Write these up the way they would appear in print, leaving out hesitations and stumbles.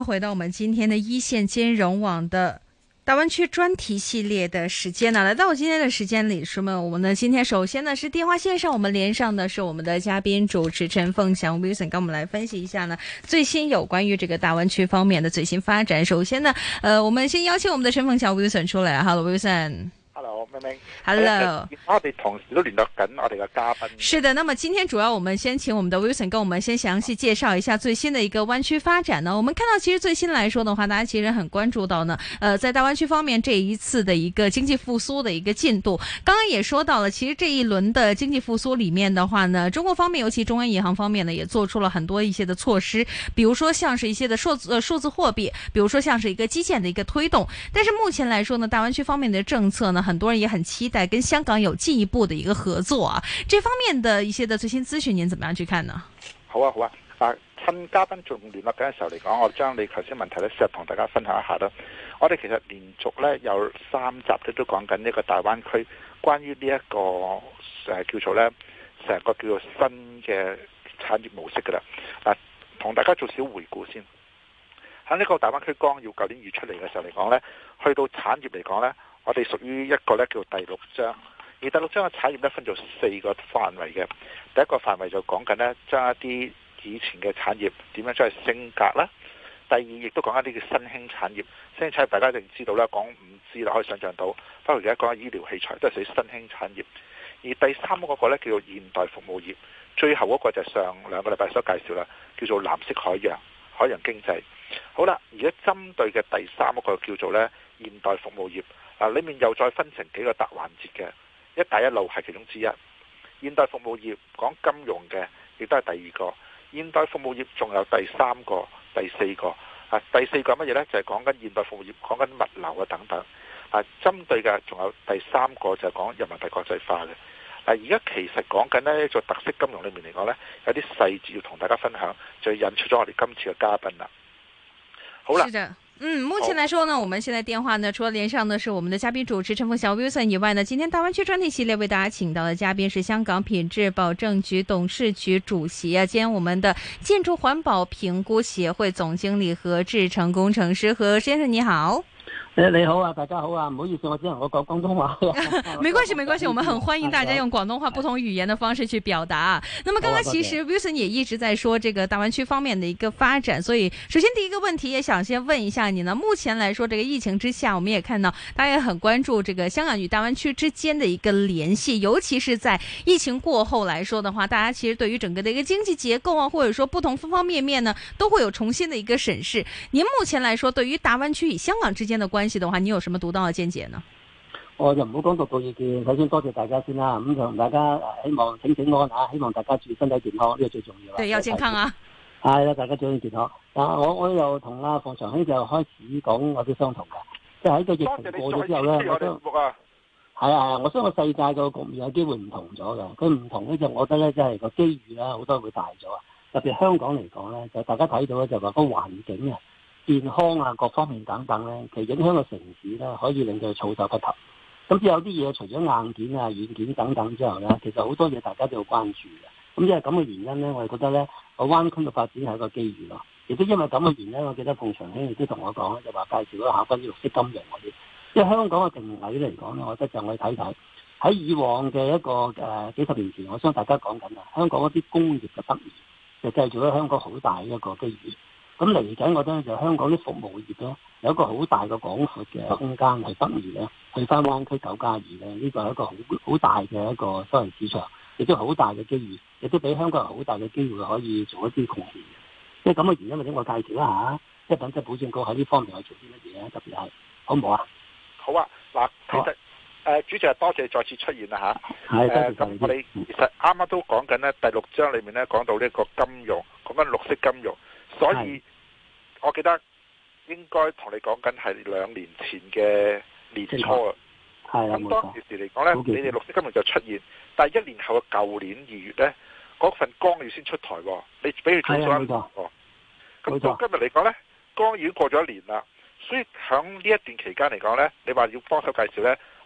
回到我们今天的一线金融网的大湾区专题系列的时间呢，来到我今天的时间里，是吗？我们呢今天首先呢是电话线上，我们连上的是我们的嘉宾主持陈凤翔 Wilson， 跟我们来分析一下呢最新有关于这个大湾區方面的最新發展。首先呢，我們先邀請我們的陳鳳翔 Wilson 出嚟。Hello Wilson。Hello， 明明。 Hello， 我哋同時都聯絡緊我哋嘅嘉賓。 是的，那麼今天主要我們先請我們的 Wilson 跟我們先詳細介紹一下最新的一個灣區發展呢。我們看到其實最新來說的話，大家其實很關注到呢，在大灣區方面這一次的一個經濟復甦的一個進度。剛剛也說到了，其實這一輪的經濟復甦裡面的話呢，中國方面尤其中央銀行方面呢，也做出了很多一些的措施，比如說像是一些的數字貨幣，比如說像是一個基建的一個推動。但是目前來說呢，大灣區方面的政策呢，很多人也很期待跟香港有進一步的一個合作啊。這方面的一些的最新資訊，您怎麼樣去看呢？ 好啊，好啊。趁嘉賓仲聯絡緊嘅時候嚟講，我將你頭先問題咧，試下同大家分享一下啦。我哋其實連續咧有3集都講緊呢個大灣區關於呢一個叫做咧成個叫做新嘅產業模式噶啦。同大家做少回顧先。喺呢個大灣區綱要舊年預出嚟嘅時候嚟講咧，去到產業嚟講咧，我哋屬於一個咧叫第6章。而第6章嘅產業咧分做4個範圍嘅。第一個範圍就講緊咧將一啲以前嘅產業點樣將佢升格啦。第二亦都講一啲叫新興產業。新興產業大家一定知道啦，講5G啦，可以想象到。包括而家講醫療器材都係屬於新興產業。而第3嗰個咧叫做現代服務業。最後嗰個就係上2個禮拜所介紹啦，叫做藍色海洋經濟。好啦，而家針對嘅第3嗰個叫做咧現代服務業。裡面又再分成幾個大環節嘅。一帶一路係其中之一。現代服務業講金融嘅，亦都係第2個。現代服務業仲有第3個、第4個。第4個乜嘢呢？就係講緊現代服務業，講緊物流等等。針對嘅仲有第3個就係講人民幣國際化嘅。而家其實講緊呢做特色金融裏面嚟講呢，有啲細節要同大家分享，就引出咗我哋今次嘅嘉賓啦。好啦。 目前來說呢，我們現在電話呢，除了連上的是我們的嘉賓主持陳鳳翔 Wilson 以外呢，今天大灣區專題系列為大家請到的嘉賓是香港品質保證局董事局主席兼我們的建築環保評估協會總經理何志成工程師。何先生你好。 你好啊，大家好啊，唔好意思，我只能夠講廣東話。 沒關係，沒關係，我們很歡迎大家用廣東話不同語言的方式去表達。那麼剛剛其實 Wilson 也一直在說這個大灣區方面的一個發展，所以首先第一個問題也想先問一下你呢。目前來說，這個疫情之下，我們也看到大家也很關注這個香港與大灣區之間的一個聯繫，尤其是在疫情過後來說的話，大家其實對於整個的一個經濟結構啊，或者說不同方方面面呢，都會有重新的一個審視。您目前來說，對於大灣區與香港之間的關係的話，你有什麼獨到的見解呢？ 我就唔好講獨到意見，首先多謝大家先啦。咁同大家希望請安啊，希望大家注意身體健康，呢個最重要。 對，要健康啊！ 係啦，大家注意健康。我又同阿鳳翔兄就開始講我啲相同嘅，即係喺個疫情過咗之後咧，我相信世界個局面有機會唔同咗嘅。佢唔同咧，就我覺得咧，即係個機遇啦，好多會大咗啊。特別香港嚟講咧，就大家睇到咧，就話個環境啊、健康啊各方面等等咧，其實影響個城市咧，可以令到措手不及。咁之有啲嘢除咗硬件啊、軟件等等之後咧，其實好多嘢大家都要關注嘅。咁因為咁嘅原因咧，我哋覺得咧，個灣區嘅發展係一個機遇咯。亦都因為咁嘅原因，我記得鳳翔兄亦都同我講咧，就話介紹咗下關於綠色金融嗰啲。因為香港嘅定位嚟講咧，我覺得就我哋睇睇喺以往嘅一個幾十年前，我相信大家講緊啊，香港嗰啲工業嘅北移就製造咗香港好大一個機遇。咁嚟緊，我覺得就香港啲服務業咧有一個好大嘅廣闊嘅空間係北移咧，去翻灣區9+2咧，呢個係一個好大嘅一個收入市場，亦都好大嘅機遇，亦都俾香港人好大嘅機會可以做一啲貢獻嘅。即係咁嘅原因，或者我介紹一下，即係品質保證局喺呢方面去做啲乜嘢咧？特別係好唔好啊？ 好啊，嗱，其實主席多謝再次出現啦嚇。咁我哋其實啱啱都講緊咧，第6章裏面咧講到呢個金融，講緊綠色金融，所以我記得應該同你講緊係2年前嘅年初啊。咁當時嚟講咧，你哋綠色金融就出現，但係1年後嘅舊年2月咧，嗰份綱要先出台喎，你俾佢早咗1年喎。咁到今日嚟講咧，綱已經過咗1年啦。所以喺呢一段期間嚟講呢，你話要幫手介紹呢，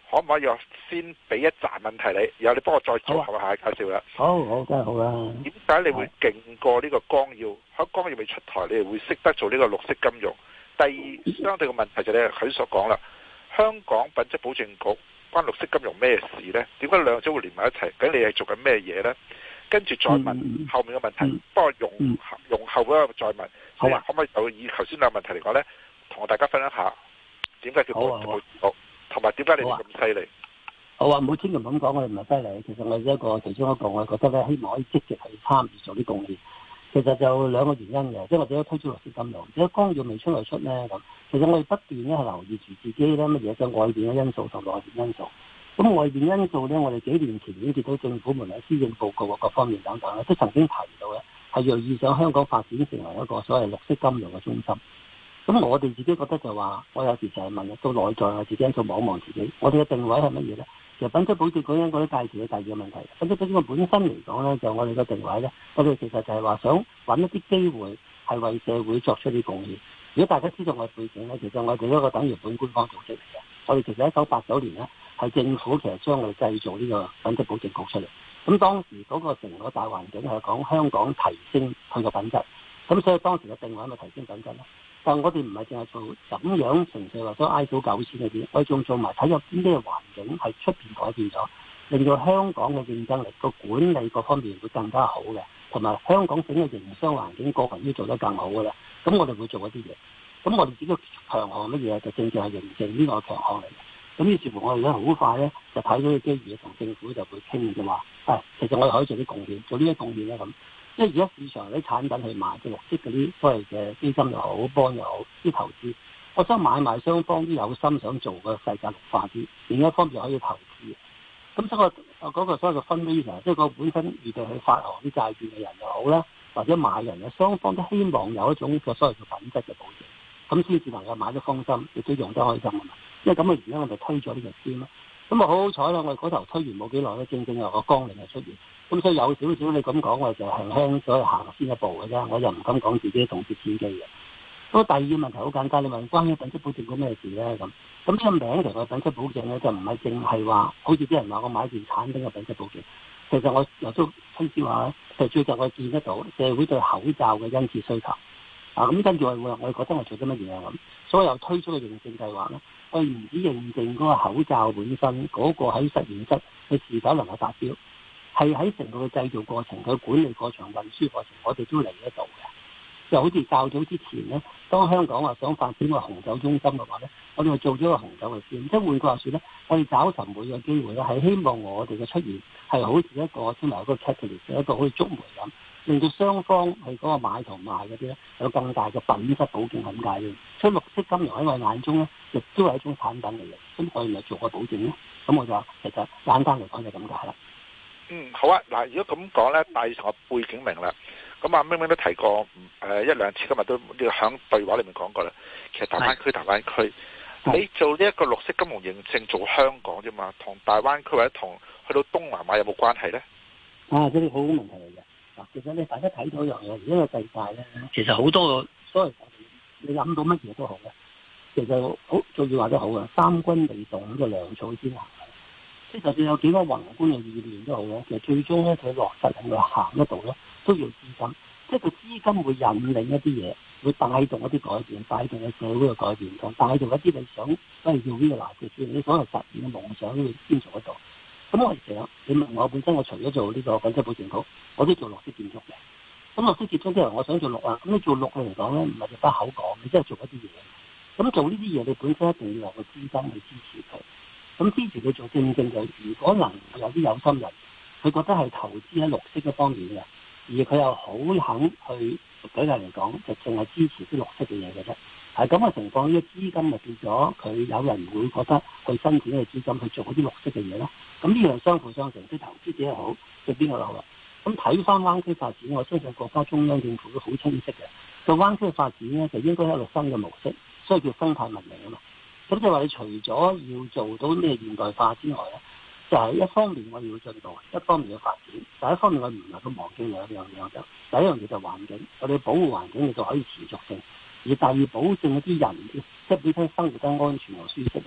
可唔可以我先俾一紮問題你，然後你幫我再組合下介紹啦。 好，梗係好啦。 點解你會勁過呢個綱要？喺綱要未出台，你哋會識得做呢個綠色金融？第二，相對嘅問題就係佢所講啦，香港品質保證局關綠色金融咩事呢？點解兩者會連埋一齊？究竟你係做緊咩嘢呢？跟住再問後面嘅問題，不過容後嗰個再問。好啊，可唔可以就以頭先兩個問題嚟講呢，同大家分享下點解叫品質保證局，同埋點解你哋咁犀利？ 好啊，唔好千祈唔好咁講，我哋唔係犀利。其實我哋其中一個，我覺得咧，希望可以積極去參與做啲貢獻。其實就兩個原因嘅，即係我哋都推出綠色金融，如果綱要未出嚟出咧咁，其實我哋不斷咧係留意住自己咧乜嘢嘅外邊嘅因素同內邊因素。咁外邊因素咧，我哋幾年前已經見到政府無論施政報告各方面等等咧，都曾經提到咧係銳意想香港發展成為一個所謂綠色金融嘅中心。咁我哋自己覺得就話，我有時就係問到內在我自己因素望一望自己，我哋嘅定位係乜嘢咧？其實品質保證嗰陣嗰啲介紹嘅第二個問題，品質保證個本身嚟講咧，就我哋嘅定位咧，我哋其實就係話想揾一啲機會係為社會作出啲貢獻。如果大家知道我嘅背景咧，其實我哋一個等於本官方組織嚟嘅。我哋其實1989年咧係政府其實將我哋製造呢個品質保證局出嚟。咁當時嗰個成個大環境係講香港提升佢個品質，咁所以當時嘅定位咪提升品質咯。但我哋唔係淨係做咁樣純粹話想挨到9千嗰啲，我哋仲做埋睇有啲咩環境係出邊改變咗，令到香港嘅競爭力個管理各方面會更加好嘅，同埋香港整個營商環境個人都做得更好嘅啦。咁我哋會做一啲嘢。咁我哋自己強項乜嘢就正正係認證呢個強項嚟嘅。咁於是乎我哋咧好快咧就睇到個機遇，同政府就會傾嘅話，其實我哋可以做啲貢獻，做呢啲貢獻咧咁。即係而家市場啲產品去賣嘅綠色嗰啲所謂嘅基金又好，幫又好，啲投資，我想買賣雙方都有心想做個世界綠化啲，另一方面可以投資。咁所以嗰個所謂嘅分類上，即係個本身預備去發行啲債券嘅人又好啦，或者買人嘅雙方都希望有一種個所謂嘅品質嘅保證，咁先至能夠買得放心，亦都用得開心啊嘛。因為咁嘅原因，我哋推咗呢個先啦。咁啊好好彩啦！我哋嗰頭推完冇幾耐咧，正正有個綱領係出現。咁所以有少少你咁講，我就輕輕所以行先一步嘅啫。我就唔敢講自己動輒千機嘅。咁第二個問題好簡單，你問關於品質保證嗰咩事咧咁？咁呢個名其實品質保證咧就唔係淨係話，好似啲人話我買件產品嘅品質保證。其實我又都推銷話咧，就最近我見得到社會對口罩嘅殷切需求。咁跟住我哋覺得我做咗乜嘢啊咁？所以又推出個認證計劃咧。我唔止認證嗰個口罩本身嗰個喺實驗室佢是否能夠達標，係喺成個嘅製造過程、佢管理過程、運輸過程，我哋都嚟得到嘅。就好似較早之前咧，當香港話想發展個紅酒中心嘅話咧，我哋做咗個紅酒嘅先。即係換句話說咧，我哋找尋每個機會咧，係希望我哋嘅出現係好似一個先埋一個 catalyst，一個好似觸媒咁。令到雙方係嗰個買同賣嗰啲咧有更大嘅品質保證咁解嘅，所以綠色金融喺我眼中咧，亦都係一種產品嚟嘅。咁我哋咪做個保證咯。咁我就話其實簡單嚟講就咁解啦。 好啊。嗱，如果咁講咧，大成個背景明啦。咁阿明明都提過一兩次，今日都呢個響對話裏面講過啦。其實大灣區，你做呢一個綠色金融認證做香港啫嘛，同大灣區或者同去到東南亞有冇關係咧？ 呢個好問題嚟嘅。其實你大家睇到一樣嘢，而家個世界咧，其實好多個所謂你諗到乜嘢都好嘅，其實好做要話都好嘅，三軍未動咁就糧草先行。即係就算有幾多宏觀嘅意念都好咧，其實最終咧佢落實係咪行得到咧，都要資金。即係個資金會引領一啲嘢，會帶動一啲改變，帶動個社會嘅改變，同帶動一啲你想都係要呢個藍圖，你所謂實現嘅夢想，你先做得到。咁我成日你問我本身，我除咗做呢個品質保證局，我都做綠色建築嘅。咁綠色建築之後，我想做綠啊。咁你做綠嚟講咧，唔係就得口講，你真係做一啲嘢。咁做呢啲嘢，你本身一定要有個資金去支持佢。咁支持佢做正就，如果能有啲有心人，佢覺得係投資喺綠色嗰方面嘅，而佢又好肯去舉例嚟講，就淨係支持啲綠色嘅嘢嘅啫。係咁嘅情況，呢個資金咪變咗佢有人會覺得去申請嘅資金去做嗰啲綠色嘅嘢咯。咁呢樣相輔相成，即係投資者又好，對邊個又好啦。咁睇翻灣區發展，我相信國家中央政府都好清晰嘅。個灣區發展咧，就應該係一個新嘅模式，所以叫生態文明啊嘛。咁即係話你除咗要做到咩現代化之外咧，就係一方面我哋要進步，一方面要發展。第一方面我唔能夠忘記兩樣嘢就，第一樣嘢就環境，我哋保護環境，你就可以持續性。而第二保證一啲人，即係本身生活得安全又舒適啊嘛。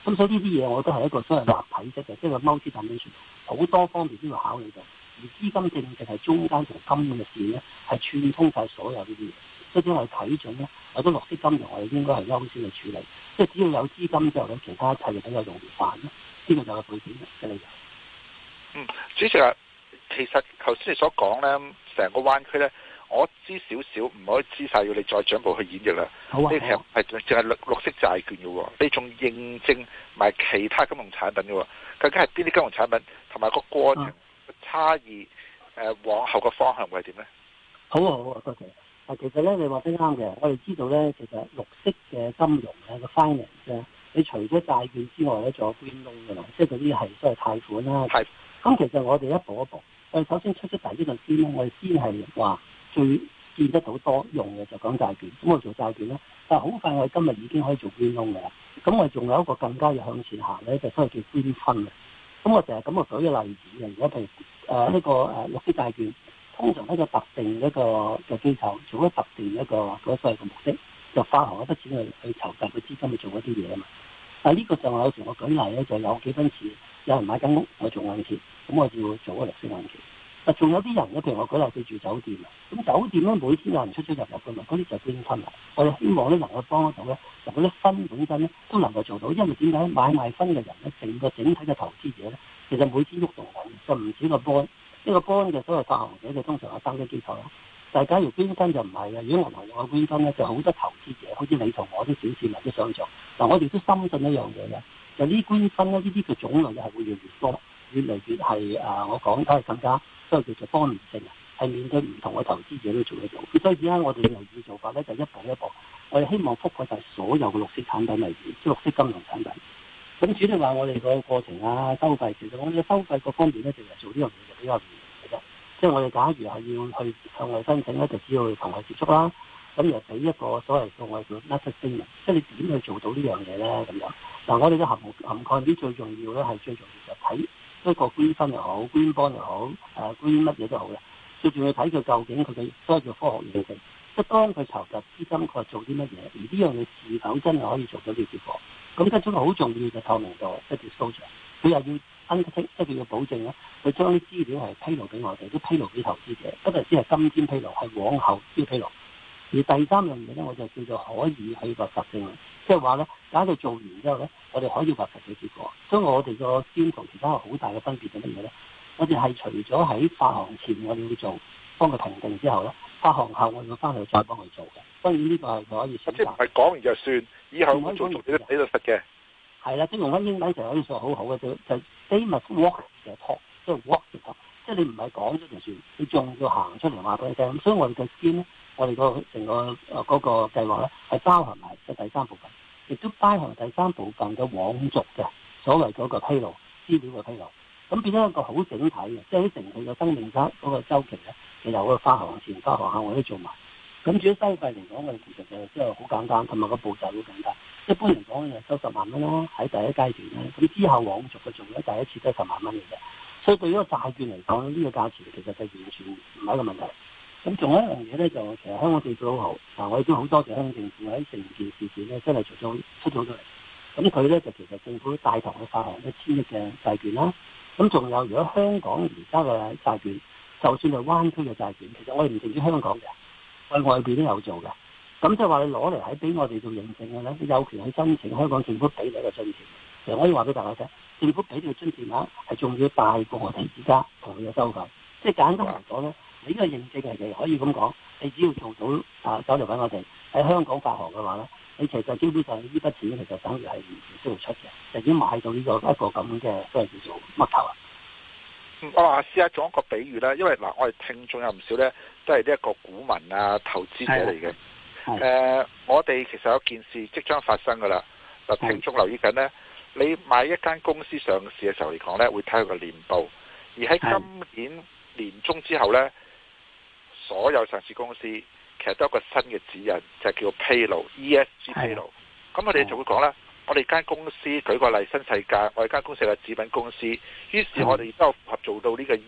咁所以呢啲嘢我覺得係一個所謂立體式嘅，即係個 multi-dimension，好多方面都要考慮到。而資金正正係中間同金融嘅線咧，係串通晒所有呢啲嘢。所以我哋睇準咧，或者綠色金融我哋應該係優先去處理。即係只要有資金之後咧，其他一切就比較容易辦咯。呢個就係背景嘅理由。 主席啊，其實頭先你所講咧，成個灣區咧，我知少少，唔可以知晒，要你再進一步去演繹啦。 好啊， 呢其實係淨係綠色債券嘅喎，你仲認證埋其他金融產品嘅喎，究竟係邊啲金融產品，同埋個過程差異，往後嘅方向會係點咧？ 好啊，好啊，多謝。其實咧，你話得啱嘅。我哋知道咧，其實綠色嘅金融咧，個 finance 咧，你除咗債券之外咧，仲有 green loan 嘅啦，即係嗰啲係所謂貸款啦。係。咁其實我哋一步一步，我哋首先出第一個先咧，我哋先係話最見得到多用嘅就講債券。咁我做債券咧，但係好快我哋今日已經可以做 green loan 嘅啦。咁我哋仲有一個更加要向前行咧，就所謂叫 green fund 嘅。咁我成日咁我舉個例子嘅，如果譬如呢個綠色債券。通常一個特定一個嘅機構做咗特定一個嗰所謂嘅目的，就發行一筆錢去籌集嘅資金去做一啲嘢啊嘛。但係呢個就有時我舉例咧，就有幾分錢，有人買間屋，我做按揭，咁我就要做個綠色按揭。但仲有啲人咧，譬如我舉例佢住酒店啊，咁酒店咧每天有人出出入入嘅嘛，嗰啲就green fund啦。我哋希望咧能夠幫得到咧，就嗰啲分本身咧都能夠做到，因為點解買賣分嘅人咧，整體嘅投資者咧，其實每天喐動緊，就唔少個波。呢個 bond 嘅所謂發行者就通常係登記機構啦，但係假如捐分就唔係嘅。如果銀行有捐分咧，就好多投資者，好似你同我啲小市民都想做。嗱，我哋都深信一樣嘢嘅，就呢捐分咧，呢啲嘅種類係會越嚟越多，越嚟越係我講都係更加所謂叫做多面性啊，係面對唔同嘅投資者都做得到。所以而家我哋留意做法咧，就一步一步，我哋希望覆蓋晒所有嘅綠色產品為主，即係綠色金融產品。咁主要話我哋個過程啊，收費，其實我哋嘅收費各方面咧，就係做呢樣嘢就比較容易嘅啫。即係我哋假如係要去向外申請咧，就只要同佢接觸啦。咁又俾一個所謂嘅我哋叫 method statement，即係你點去做到呢樣嘢咧咁樣。嗱，我哋嘅涵蓋面最重要咧，係最重要就睇一個green fund又好，green bond又好，green 乜嘢都好嘅。最重要睇佢究竟佢嘅所謂叫科學驗證，即係當佢籌集資金，佢係做啲乜嘢，而呢樣嘢是否真係可以做到呢個結果。咁跟住好重要就透明度，即係 disclosure，佢又要 undertake，即係佢要保證咧，佢將啲資料係披露俾我哋，都披露俾投資者，不單止係今天披露，係往後先披露。而第三樣嘢咧，我就叫做可以去核實性，即係話咧，假到做完之後咧，我哋可以核實嘅結果。所以我哋個先同其他好大嘅分別係乜嘢咧？我哋係除咗喺發行前我哋要做，幫佢評定之後咧，發行後我要翻去再幫佢做嘅。當然呢個係可以選擇。即係唔係講完就算，以後我做你都睇到實嘅。係啦，即係用翻英文就可以說好好嘅，就 they must walk the talk，即係 walk the talk，即係你唔係講咗就算，你仲要行出嚟話俾你聽。所以我哋嘅 scheme 咧，我哋個成個嗰個計劃咧，係包含埋嘅第三部分，亦都包含第三部分嘅往續嘅所謂嗰個披露資料嘅披露。咁變咗一個好整體嘅，即係喺成佢嘅生命嗰個週期咧，其實我發行前、發行後我都做埋。咁至於收費嚟講，我哋其實就即係好簡單，同埋個步驟好簡單。一般嚟講就收10萬蚊啦，喺第一階段咧。咁之後往續嘅做咧，第一次都係10萬蚊嘅啫。所以對於個債券嚟講，呢個價錢其實就完全唔係一個問題。咁仲有一樣嘢咧，就其實香港政府好好，嗱我亦都好多謝香港政府喺成件事件咧，真係出咗嚟。咁佢咧就其實政府帶頭去發行1000億嘅債券啦。咁仲有，如果香港而家嘅債券，就算係灣區嘅債券，其實我哋唔淨止香港嘅，我哋外邊都有做嘅。咁即係話你攞嚟喺俾我哋做認證嘅咧，你有權去申請香港政府俾你一個津貼。其實我可以話俾大家聽，政府俾你嘅津貼額係仲要大過我哋而家同佢嘅收費。即係簡單嚟講咧，你呢個認證係可以咁講，你只要做到走嚟揾我哋喺香港發行嘅話咧，你其實基本上呢筆錢其實等於係唔需要出嘅，就已經買到呢個一個咁嘅所謂叫做乜頭啊。 我話試下做一個比喻啦，因為嗱，我哋聽眾有唔少咧，都係呢一個股民啊、投資者嚟嘅。我哋其實有件事即將發生噶啦。嗱，聽眾留意緊咧，你買一間公司上市嘅時候嚟講咧，會睇佢個年報，而喺今年年中之後咧，所有上市公司其實都有一個新嘅指引，就係叫披露 ESG 披露。咁我哋就會講啦。我哋間公司舉個例，新世界，我哋間公司係紙品公司，於是我哋亦都有符合做到呢個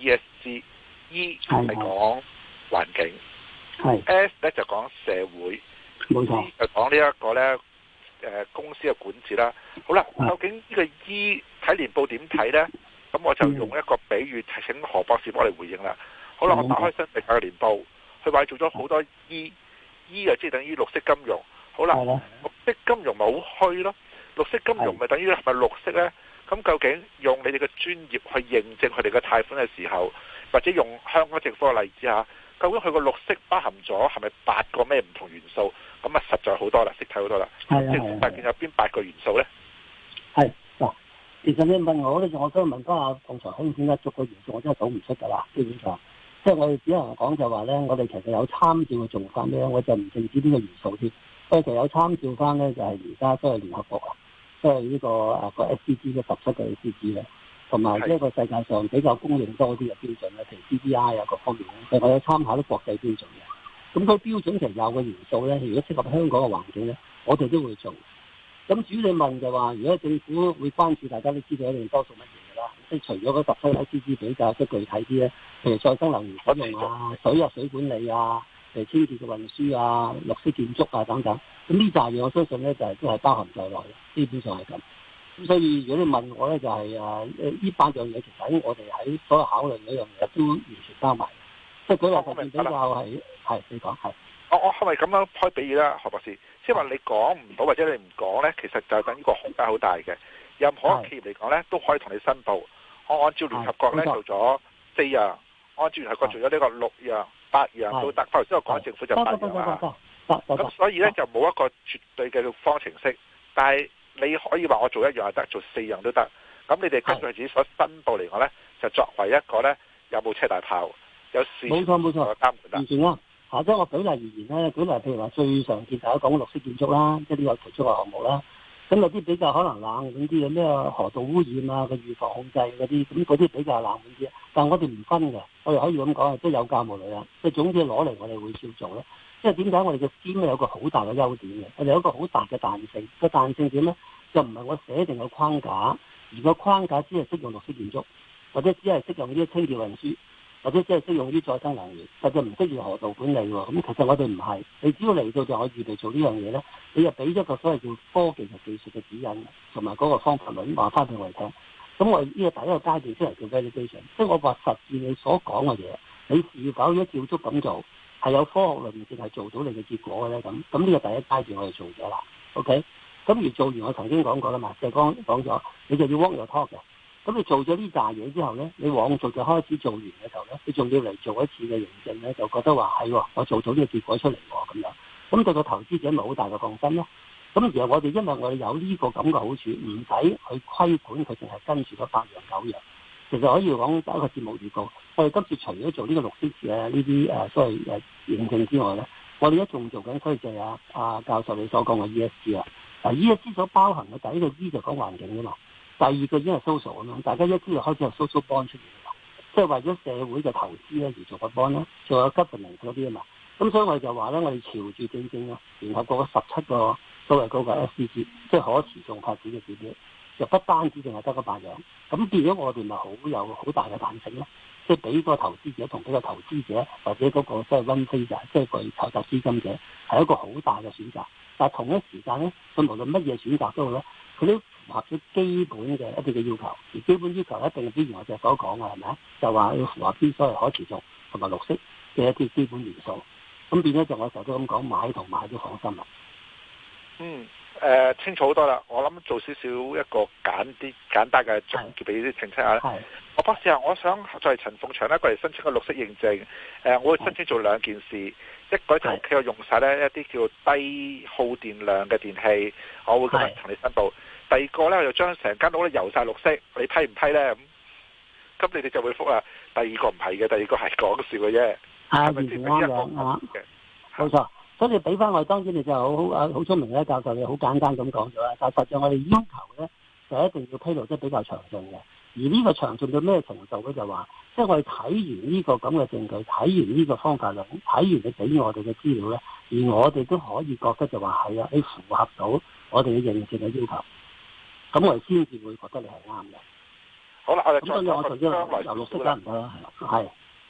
ESG。E 係講環境，S 咧就講社會，C 就講呢一個咧公司嘅管治啦。好啦，究竟呢個 E 睇年報點睇呢？咁我就用一個比喻，請何博士幫我哋回應啦。好啦，我打開新世界嘅年報，佢話做咗好多 E 就即係等於綠色金融。好啦，綠色金融咪好虛咯？綠色金融咪等於係咪綠色呢？咁究竟用你哋嘅專業去認證佢哋嘅貸款嘅時候，或者用香港政府嘅例子下，究竟佢個綠色包含咗係咪8個咩唔同元素？咁啊實在好多啦，識睇好多啦。政府大件有邊8個元素呢？ 係嗱，其實你問我咧，我想問翻阿馮長興點解逐個元素我真係數唔出㗎啦，基本上。即係我哋只能講就話咧，我哋其實有參照嘅做法咧，我就唔淨止呢個元素添。我哋其實有參照翻咧，就係而家都係聯合國啊，即係呢個SDG 嘅17個 SDG 咧，同埋呢個世界上比較公認多啲嘅標準咧，譬如 CDI 啊各方面咧，其實我有參考啲國際標準嘅。咁個標準其實有個元素咧，如果適合香港嘅環境咧，我哋都會做。咁主要你問就話，如果政府會關注，大家都知道一定多數乜嘢㗎啦。即係除咗嗰17個 SDG 比較即係具體啲咧，譬如再生能源使用啊、水管理啊、清潔嘅運輸啊、綠色建築啊等等。咁呢扎嘢我相信咧就係都係包含在內嘅，基本上係咁。咁所以如果你問我咧，就係呢8樣嘢，其實喺我哋喺所有考慮嗰樣嘢都完全包埋。即係舉例就比較係你講係。 我係咪咁樣開比喻啦，何博士？即係話你講唔到或者你唔講咧，其實就等於個空間好大嘅。任何企業嚟講咧，都可以同你申報。我按照聯合國咧做咗4樣，按照聯合國做咗呢個6樣、8樣都得。頭先我講政府就8樣啦。咁所以咧就冇一個絕對嘅方程式，但係你可以話我做1樣就得，做4樣都得。咁你哋根據自己所申報嚟講咧，就作為一個咧有冇車大炮，有市場嘅監管啦。 完全啦。即係我舉例而言咧，舉例譬如話最常見大家講嘅綠色建築啦，即係呢個其中嘅項目啦。咁有啲比較可能冷門啲嘅咩河道污染啊嘅預防控制嗰啲，咁嗰啲比較冷門啲。但係我哋唔分嘅，我哋可以咁講，即係有教無類啊。即係總之攞嚟我哋會照做咧。即係點解我哋嘅 scheme 有個好大嘅優點嘅？我哋有一個好大嘅彈性。個彈性點咧？就唔係我寫定個框架，而個框架只係適用綠色建築，或者只係適用呢啲清潔運輸。或者即係適用於再生能源，實際唔適用河道管理喎。咁其實我哋唔係，你只要嚟到就我預備做呢樣嘢咧，你就俾咗個所謂叫科技同技術嘅指引，同埋嗰個方法論話翻俾我哋聽。咁我呢個第一個階段先嚟叫 validation，即係我話實踐你所講嘅嘢，你是否如果照足咁做，係有科學論證係做到你嘅結果嘅咧？咁呢個第一階段我哋做咗啦。OK，咁而做完我曾經講過啦嘛，就講咗，你就要 walk your talk 嘅。咁你做咗呢扎嘢之後咧，你往續就開始做完嘅時候咧，你仲要嚟做一次嘅認證咧，就覺得話係我做到呢個結果出嚟喎咁樣。咁對個投資者咪好大嘅放心咯。咁而我哋因為我哋有呢個咁嘅好處，唔使去規管佢，淨係跟住嗰8樣9樣。其實可以講第一個節目預告，我哋今次除咗做呢個綠色呢啲所謂認證之外咧，我哋一仲做緊，所以就係阿教授你所講嘅 ESG 啊。ESG 所包含嘅第一個 E 就講環境㗎嘛。第二個已經係 social 咁樣，大家一知就開始有 social bond 出現啦，即係為咗社會嘅投資咧而做個 bond 咧，仲有 governance 嗰啲啊嘛。咁所以我哋就話咧，我哋朝住正正咯，聯合國17個所謂嗰個 SDG，即係可持續發展嘅指標，就不單止淨係得嗰8樣。咁變咗我哋咪有好大嘅彈性咯，即係俾個投資者同俾個投資者或者嗰個即係 one phaser，即係佢籌集資金者係一個好大嘅選擇。但係同一時間咧，佢無論乜嘢選擇都好咧，佢都符合咗基本嘅一啲嘅要求，而基本要求一定之前我就所講嘅係咪啊？就話要符合啲所謂可持續同埋綠色嘅一啲基本元素。咁變咗就我成日都咁講，買同賣都放心啦。 清楚好多啦。我諗做少少一個簡單嘅總結俾啲澄清下啦。我博士啊，我想在陳鳳祥咧過嚟申請個綠色認證。我會申請做2件事，一個就屋企我用晒咧一啲叫低耗電量嘅電器，我會咁樣同你申報。第二個咧，我就將成間屋咧油晒綠色，你批唔批咧？咁你哋就會覆啦。第二個唔係嘅，第二個係講笑嘅啫。係咪先？ 冇錯。所以你俾翻我，當然你就好聰明咧，教授你好簡單咁講咗啦。但實際我哋要求咧，就一定要披露得比較詳盡嘅。而呢個詳盡到咩程度咧？就話，即係我哋睇完呢個咁嘅證據，睇完呢個方法論，睇完你俾我哋嘅資料咧，而我哋都可以覺得就話係啊，你符合到我哋嘅認證嘅要求，咁我哋先至會覺得你係啱嘅。 好啦，我哋咁所以我就將來由綠色得唔得啦？係。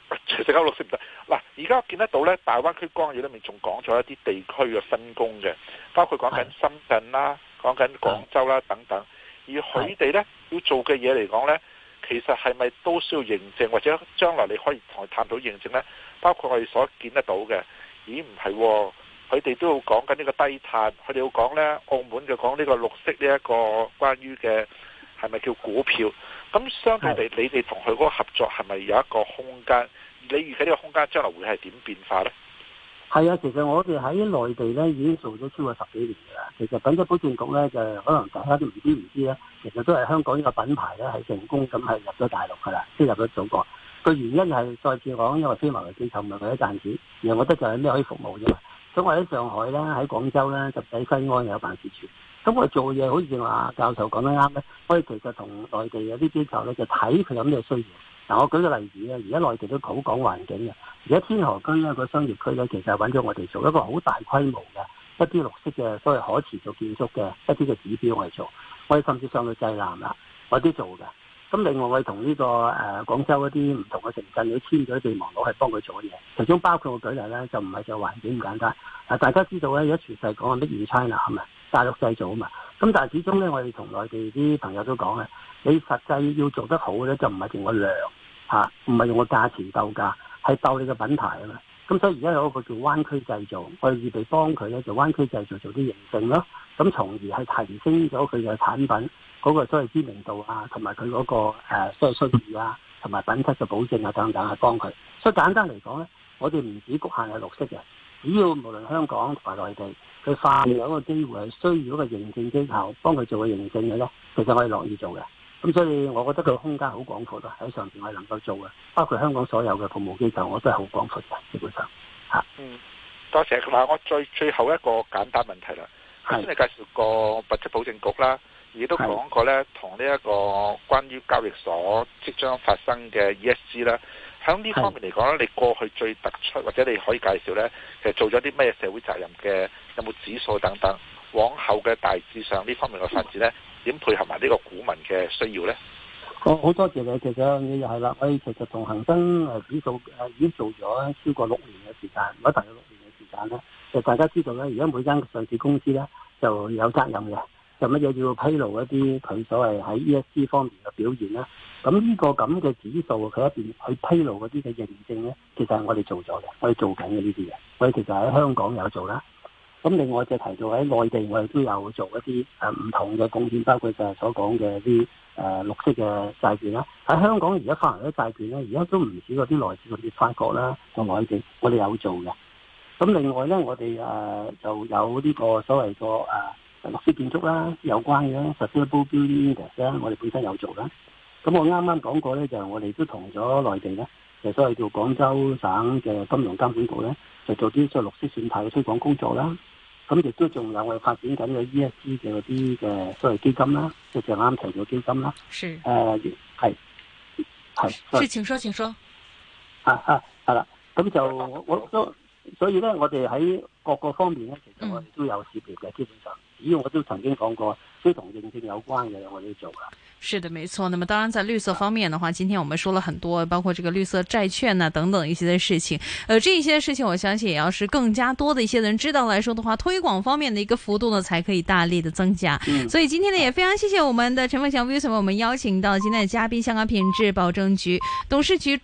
全世界綠色唔得。嗱，而家我見得到咧，大灣區綱要裏面仲講咗一啲地區嘅分工嘅，包括講緊深圳啦、講緊廣州啦等等。而佢哋咧要做嘅嘢嚟講咧，其實係咪都需要認證，或者將來你可以同佢探討認證咧？包括我哋所見得到嘅，咦唔係喎，佢哋都要講緊呢個低碳，佢哋要講咧澳門就講呢個綠色呢一個關於嘅係咪叫股票？咁相對地，你哋同佢嗰個合作係咪有一個空間？你預計呢個空間將來會係點變化咧？ 係啊，其實我哋喺內地咧已經做咗超過10幾年㗎啦。其實品質保證局咧就可能大家都唔知咧，其實都係香港呢個品牌咧係成功咁係入咗大陸㗎啦，即係入咗祖國。個原因係再次講，因為非牟利機構唔係為咗賺錢，而我覺得就係咩可以服務啫嘛。咁我喺上海啦，喺廣州啦，就喺西安有辦事處。咁我哋做嘢好似話教授講得啱咧，我哋其實同內地有啲機構咧就睇佢有咩需要。嗱，我舉個例子咧，而家內地都好講環境嘅，而家天河區咧個商業區咧，其實揾咗我哋做一個好大規模嘅一啲綠色嘅所謂可持續建築嘅一啲嘅指標我哋做，我哋甚至上到濟南啦，我都做嘅。咁另外我哋同呢個廣州一啲唔同嘅城鎮，都簽咗備忘錄係幫佢做嘢，其中包括我舉例咧，就唔係就環境咁簡單。大家知道咧，而家全世界講緊 Made in China 係咪大陸製造啊嘛？咁但係始終咧，我哋同內地啲朋友都講咧，你實際要做得好咧，就唔係用個量嚇，唔係用個價錢鬥價，係鬥你嘅品牌啊嘛。咁所以而家有一個叫灣區製造，我哋預備幫佢咧，就灣區製造做啲認證咯。咁從而係提升咗佢嘅產品嗰個所謂知名度啊，同埋佢嗰個所謂信譽啊，同埋品質嘅保證啊等等，係幫佢。所以簡單嚟講咧，我哋唔止局限係綠色嘅，只要無論香港同埋內地，佢發現有一個機會係需要一個認證機構幫佢做個認證嘅咧，其實我哋樂意做嘅。咁所以我覺得佢空間好廣闊咯，喺上邊我哋能夠做嘅，包括香港所有嘅服務機構，我都係好廣闊嘅，基本上嚇。 多謝。嗱，我最後一個簡單問題啦。頭先你介紹過品質保證局啦，亦都講過咧，同呢一個關於交易所即將發生嘅 ESG 啦。喺呢方面嚟講咧，你過去最突出或者你可以介紹咧，其實做咗啲咩社會責任嘅，有冇指數等等？往後嘅大致上呢方面嘅發展咧，點配合埋呢個股民嘅需要咧？ 好多謝你。其實你又係啦，我哋其實同恒生指數已經做咗超過6年嘅時間，如果大約6年嘅時間咧，就大家知道咧，而家每間上市公司咧就有責任嘅，就乜嘢要披露一啲佢所謂喺 ESG 方面嘅表現啦。咁呢個咁嘅指數，佢一邊去披露嗰啲嘅認證咧，其實係我哋做咗嘅，我哋做緊嘅呢啲嘢，我哋其實喺香港有做啦。咁另外就提到喺內地，我哋都有做一啲唔同嘅貢獻，包括就係所講嘅啲綠色嘅債券啦。喺香港而家發行啲債券咧，而家都唔少嗰啲來自嗰啲法國啦同內地，我哋有做嘅。咁另外咧，我哋就有呢個所謂個綠色建築啦，有關嘅 Sustainable Building Index 咧，我哋本身有做啦。咁我啱啱講過咧，就係我哋都同咗內地咧，就所謂叫廣州省嘅金融監管局咧，就做啲所謂綠色選牌嘅推廣工作啦。咁亦都仲有我哋發展緊嘅 ESG 嘅嗰啲嘅所謂基金啦，即係啱提到基金啦。 是。 係。 請說。 係啦。咁就我都，所以咧，我哋喺各個方面咧，其實我哋都有涉獵嘅，基本上，只要我都曾經講過，都同認證有關嘅，我哋都做噶。 是的，沒錯。那麼當然，在綠色方面的話，今天我們說了很多，包括這個綠色債券啊等等一些的事情。這一些事情，我相信也要是更加多的一些人知道來說的話，推廣方面的一個幅度呢，才可以大力的增加。所以今天呢，也非常謝謝我們的陳鳳翔 Wilson，我們邀請到今天的嘉賓，香港品質保證局董事局